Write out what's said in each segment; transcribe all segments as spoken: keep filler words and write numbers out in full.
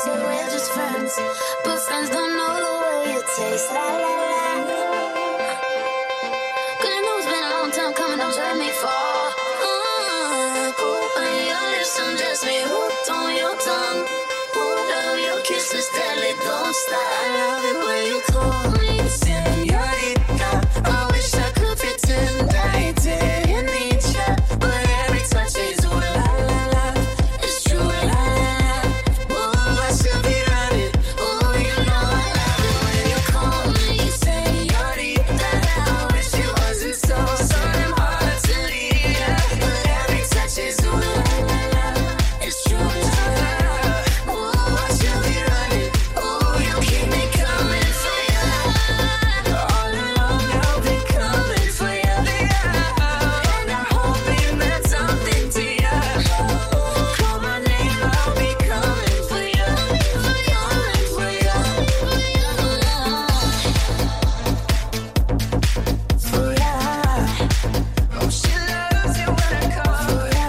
say we're just friends, but friends don't know the way it tastes. La la la. Cause I know it's been a long time coming, don't let me fall. Uh, on your lips, I'm just me hooked on your tongue. Ooh, love your kisses, deadly, don't stop. I love it when you call me señorita. I wish I could pretend I didn't need ya, but every touch is ooh la la la. It's true la la la. Ooh, I should be running. Ooh, you know I love it when you call me señorita. I wish it wasn't so, so damn hard to leave ya, but every touch is ooh la la la. It's true la la la. Ooh, I should be running. Ooh, you keep me coming for ya. All along I'll be coming for ya, and I'm hoping that's something to ya. Call my name, I'll be coming for ya, coming for ya, for ya. Oh, she loves it when I call for ya.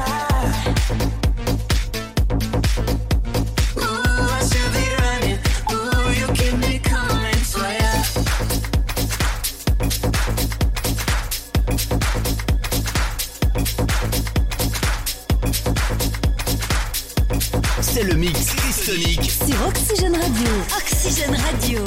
Ooh, I should be running. Ooh, you keep me coming for ya. C'est le mix Cristonic. Sur Oxygène Radio. Oxygène Radio.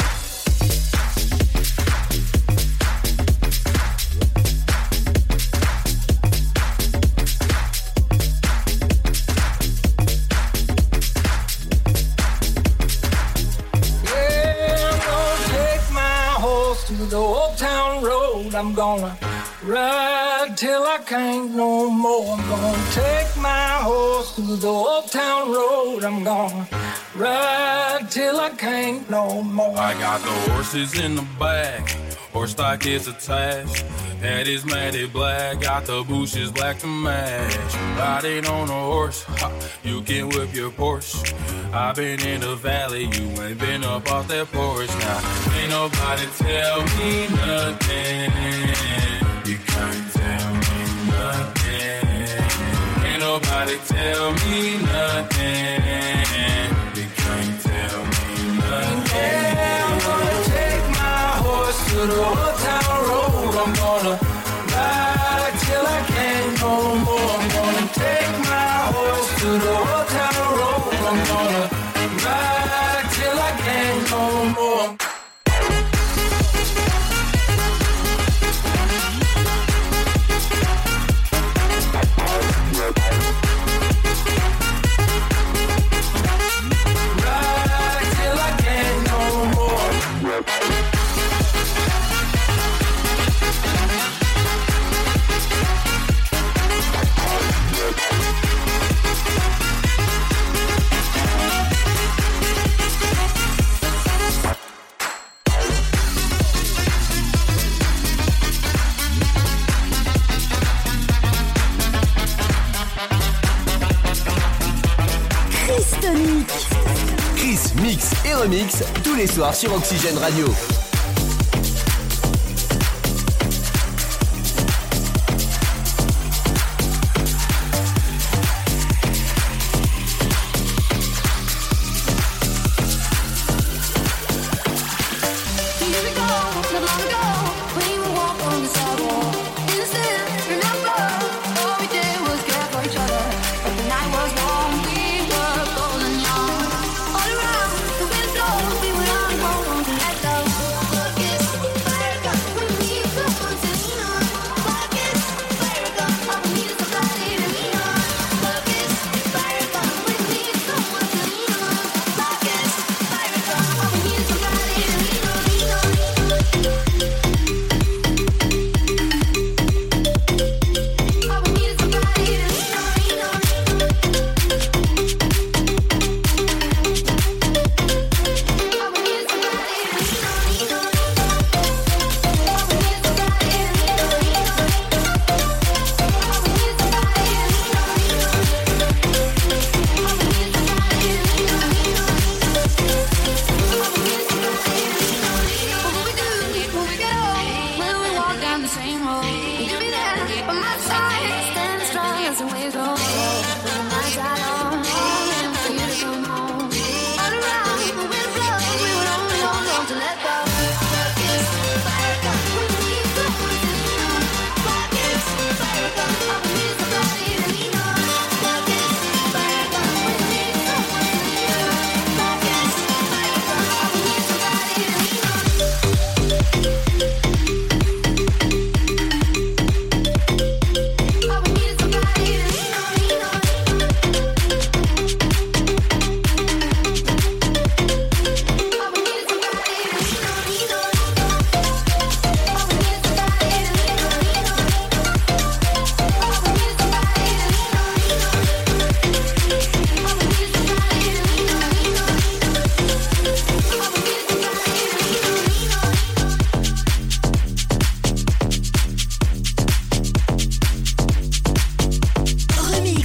Yeah, I'm gonna take my horse to the old town road. I'm gonna ride till I can't no more. I'm gonna take my horse to the old town road. I'm gonna ride till I can't no more. I got the horses in the back, horse stock is attached. Head is matted black, got the bushes black to match. Riding on a horse, ha, you can whip your Porsche. I've been in the valley, you ain't been up off that porch. Now, ain't nobody tell me nothing. You can't tell me nothing. Ain't nobody tell me nothing. You can't tell me nothing. Yeah, I'm gonna take my horse to the old town road. I'm gonna ride till I can't no more. I'm gonna take my horse to the old town road. I'm gonna ride till I can't no more. Ride till I can't no more. Cristonic. Chris mix et remix tous les soirs sur Oxygène Radio. Years ago, not long ago, we would walk on the sidewalk. Innocent, remember, all we did was care for each other. But the night was warm, we were golden young. All around, the wind blows, we were on our own to let go. Focus, fire up, we need someone to lean on. Focus, fire up, all we need is somebody to lean on. Focus, fire up, we need someone to lean on. Focus, fire up, all we need is somebody to lean on. Lean on, lean on. All we need is somebody to lean on, lean on, lean on. All we need is somebody to lean on, lean on. All we need is somebody to lean on, lean on. All we need is somebody to lean on, lean on. All we need is somebody to lean on, lean on. All we need is somebody to lean on, lean on. What will we do when we get old? When we walk down the same road? Will you be there by my side? Stand strong as the waves roll. When the nights are long, and for you to come home.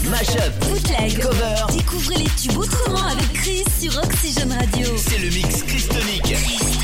mashup, bootleg, cover. Découvrez les tubes autrement avec Chris sur Oxygène Radio. C'est le mix Christonic.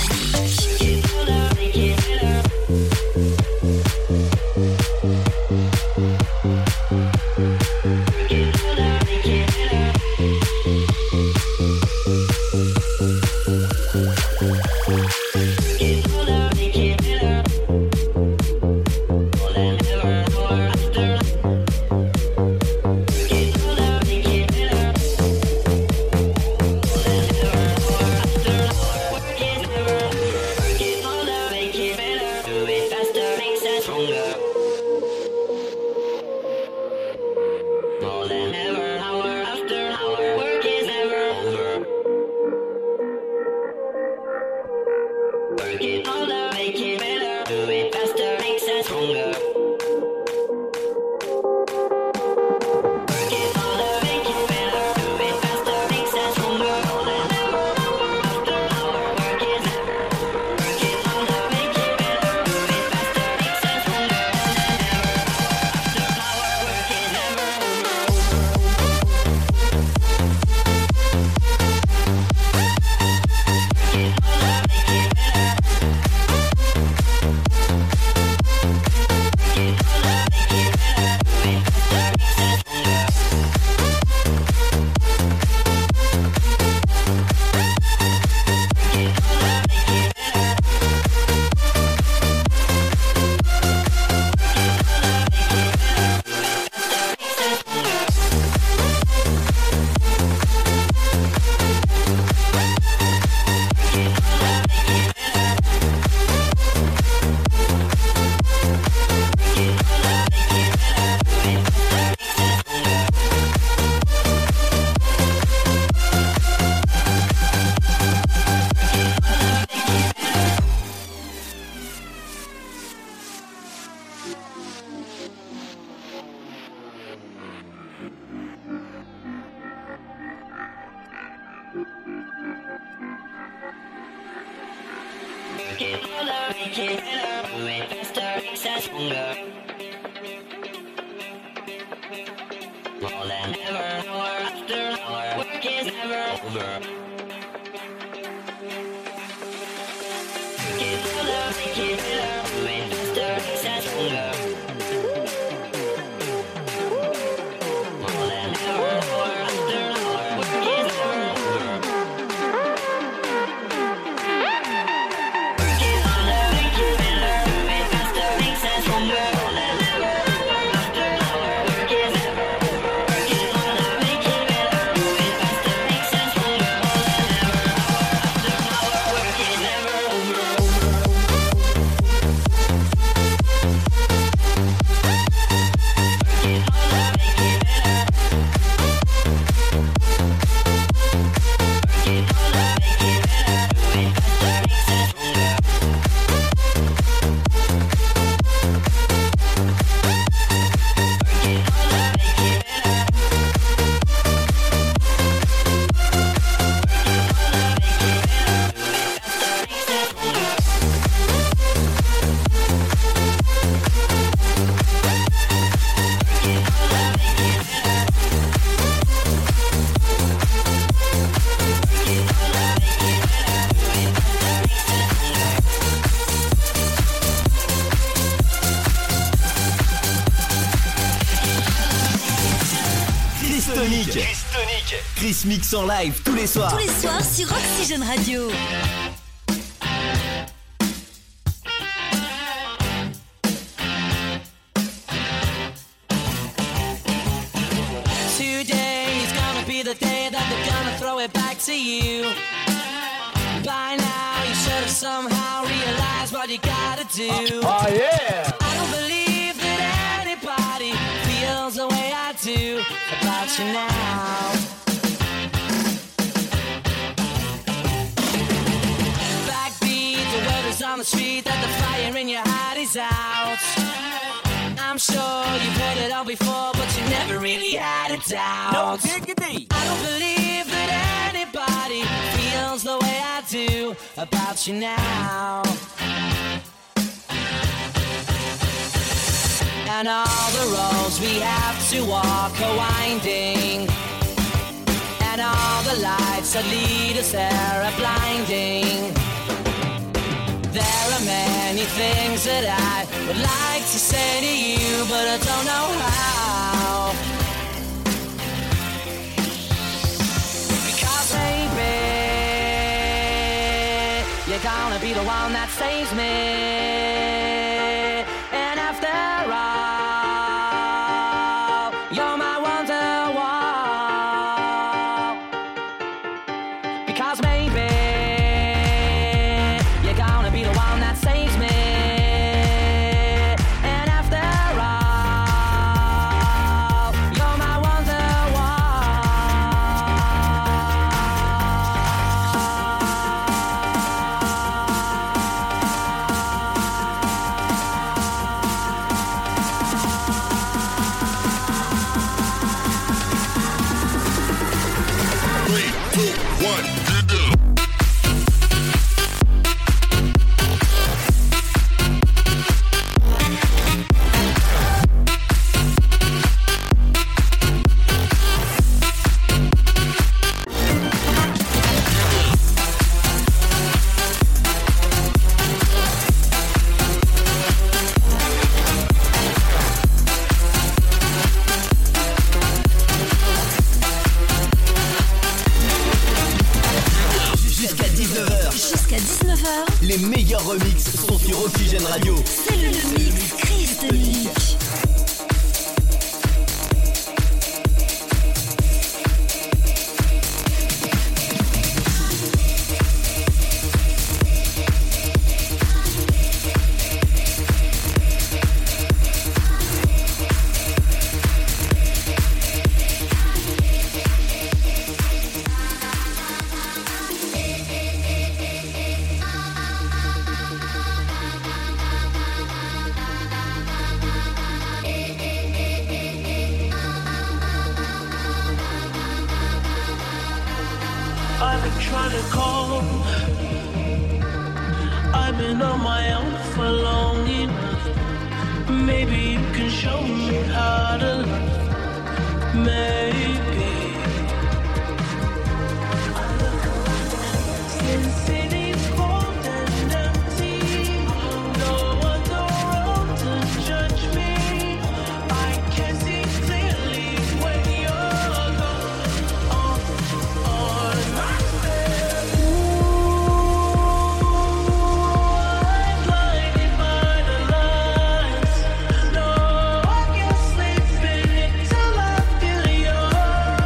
Chris mix en live tous les soirs. Tous les soirs sur Oxygène Radio. Today is gonna be the day that they're gonna throw it back to you. By now you should have somehow realized what you gotta do. Oh yeah! I don't believe that anybody feels the way I do about you now. On the street that the fire in your heart is out. I'm sure you've heard it all before, but you never really had a doubt. No diggity. I don't believe that anybody feels the way I do about you now. And all the roads we have to walk are winding, and all the lights that lead us there are blinding. There are many things that I would like to say to you, but I don't know how. Because baby, you're gonna be the one that saves me. And after all, you're my wonderwall. Because maybe you're gonna be the one that saves me. And after all, you're my Three, two, one, and up. Les meilleurs remixes sont sur Oxygène Radio. C'est le, le mix Chris Dominique. I've been trying to call. I've been on my own for long enough. Maybe you can show me how to love. Maybe. Since city's cold and empty, no one's around to judge me. I can see clearly when you're gone. Oh, oh, not there. Ooh, I'm blinded by the lights. No, I can't sleep in it till I feel yours.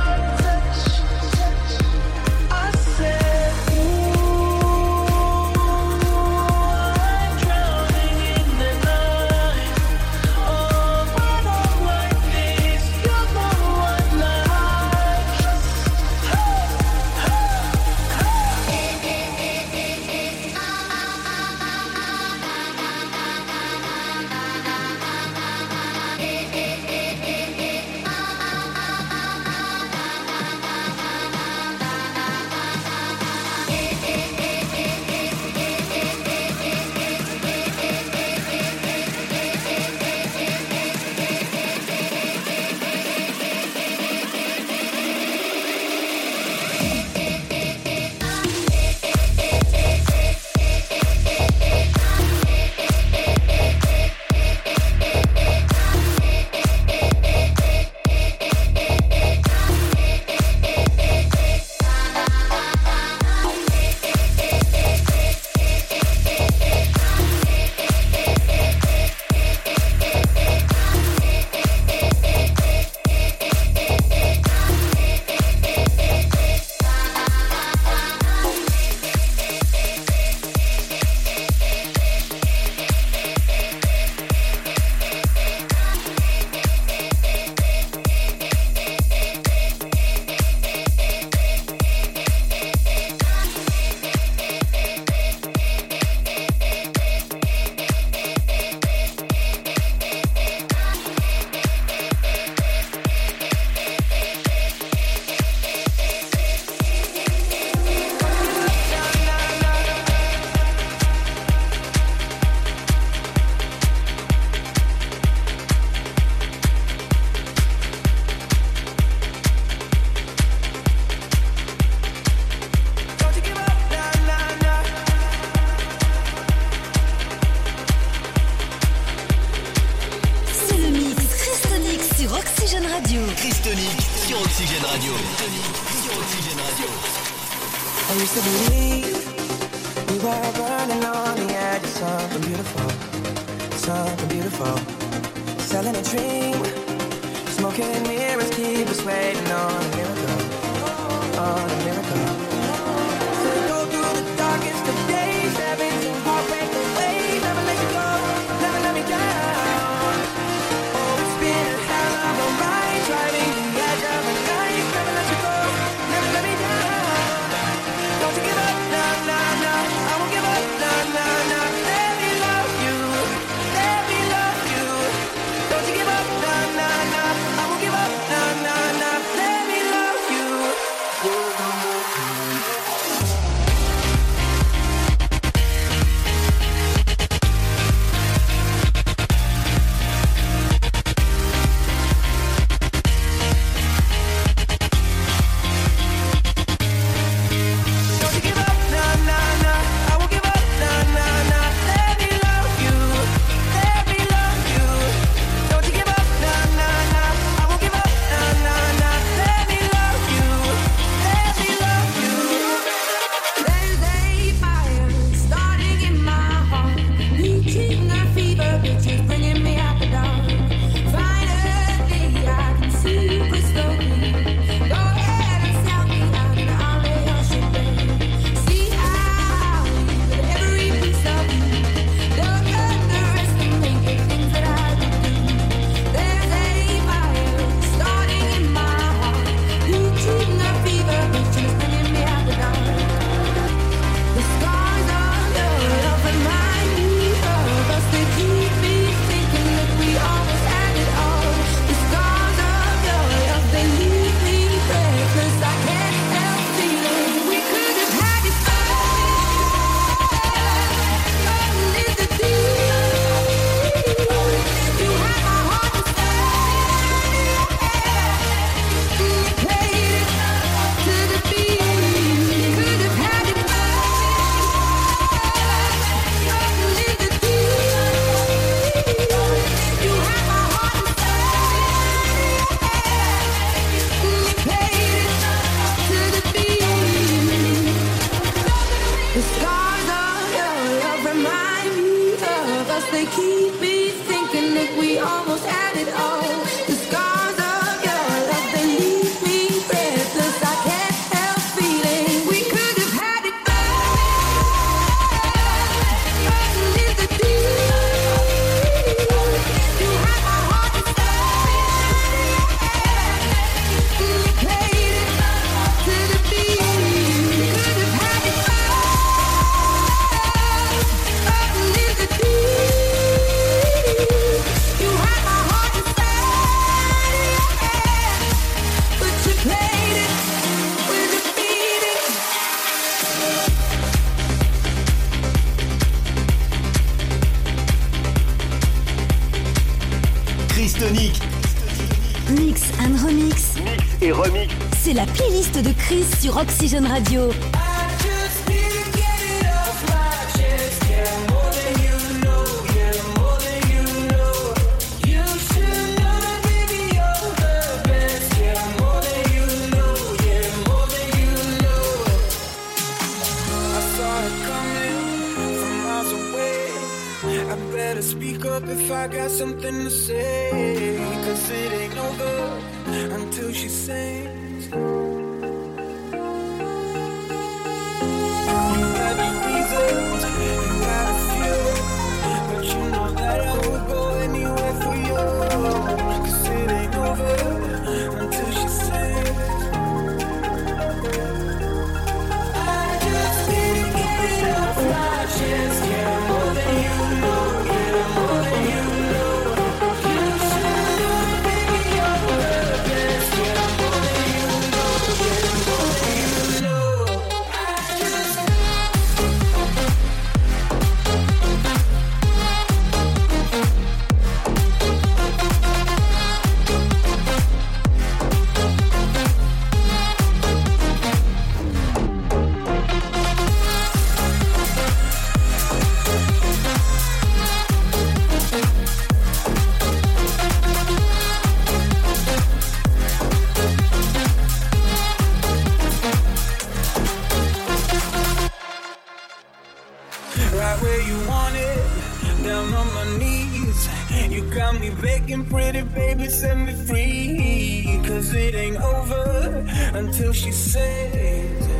Tonic sur Oxygène Radio. Tonic sur Oxygène Radio. I used to believe we were burning on the edge of something beautiful, something beautiful. Selling a dream, smoking mirrors keep us waiting on a miracle, on a miracle. So go through the darkest of days, everything heartbreak away, never let you go, never let me down. Oh, it's been a hell of a ride, driving the edge of a knife, never let you go, never let me down. Don't you give up, no, no, no, I won't give up, no, no, no. Let me love you, let me love you. Don't you give up, no, no, no, I won't give up, no, no, no. Let me love you. Don't you give up, no, no, no, I won't give up, no, no, no. Let me love you, let me love you. Don't you give up, no, no, no, I won't give up, no, no, no. Let me love you, let me love you. There's a fire starting in my heart, reaching a fever pitch, is bringing me out the dark. Finally, I can see crystal clear. Go ahead and sell me out, and I'll lay your shit bare. See how with every piece of you, don't underestimate the things that I would do. There's a fire starting in my heart, reaching a fever pitch, is bringing me out the dark. The scars of your love remind me of us. They keep me thinking that we almost had it all. The scars of your love, they leave me breathless. I can't help feeling we could have had it all. Nothing is the deal. You had my heart inside. You played it to the beat. Could have had it the scars of your love remind me of us. They keep me thinking that we almost had it all. The scars of your love, they leave me breathless. I can't help feeling we could have had it all. Nothing is the deal. You had my heart inside. You played it to the beat. Could have had it all. Nothing is the deal. You had my heart inside. But you played it with a beating. Chris Tonic. Mix and remix. Mix et remix. C'est la playlist de Chris sur Oxygène Radio. Speak up if I got something to say, 'cause it ain't over until she sings. You got the reasons, you got a few, but you know that I would go anywhere for you, 'cause it ain't over until she sings. I just can't get it off my chest, yeah, more than you know. More got me begging, pretty baby, set me free. Cause it ain't over until she says